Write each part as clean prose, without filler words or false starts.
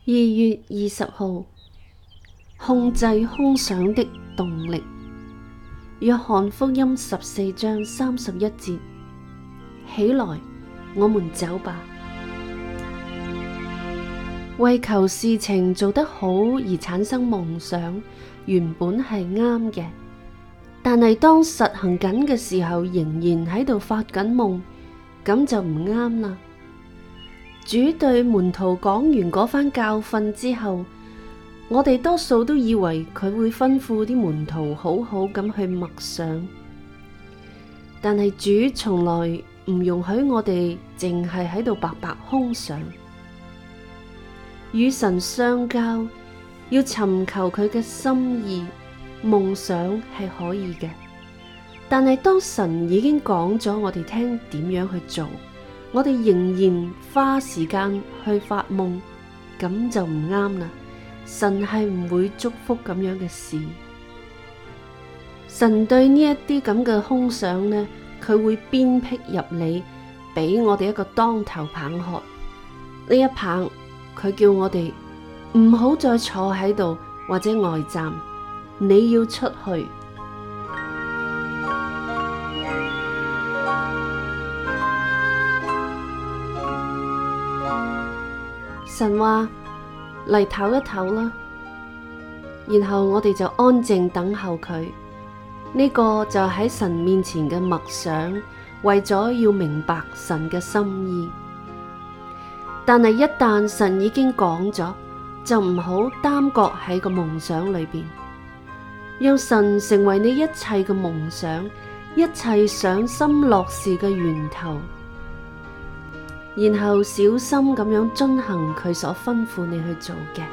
2月20號，控制空想的動力。約翰福音14章31節：起來，我們走吧。為求事情做得好而產生夢想，原本係啱嘅，但係當實行緊嘅時候，仍然喺度發緊夢，咁就唔啱啦。主對門徒講完嗰番教訓之後，我哋多數都以為佢會吩咐啲門徒好好咁去默想，但係主從來唔容許我哋淨係喺度白白空想。與神相交，要尋求佢嘅心意，夢想係可以嘅，但係當神已經講咗我哋聽點樣去做，我哋仍然花時間去發夢，咁就唔啱啦。神係唔會祝福咁樣嘅事。神對呢一啲咁嘅空想呢，佢會鞭辟入嚟，俾我哋一個當頭棒喝。呢一棒，佢叫我哋唔好再坐喺度或者呆站，你要出去。神話嚟唞一唞啦，然後我哋就安靜等候佢。呢個就喺神面前嘅默想，為咗要明白神嘅心意。但係一旦神已經講咗，就唔好耽擱喺個夢想裏邊，讓神成為你一切嘅夢想，一切賞心樂事嘅源頭。然後小心咁樣遵行佢所吩咐你去做嘅，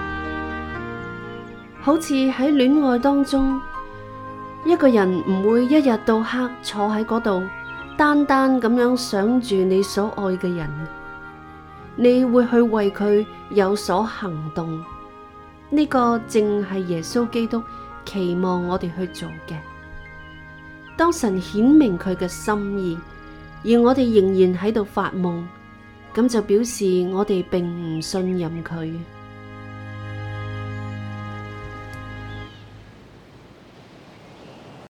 好似喺戀愛當中，一個人唔會一日到黑坐喺嗰度，單單咁樣想住你所愛嘅人，你會去為佢有所行動。呢個正係耶穌基督期望我哋去做嘅。當神顯明佢嘅心意，而我哋仍然喺度發夢，咁就表示我哋並唔信任佢。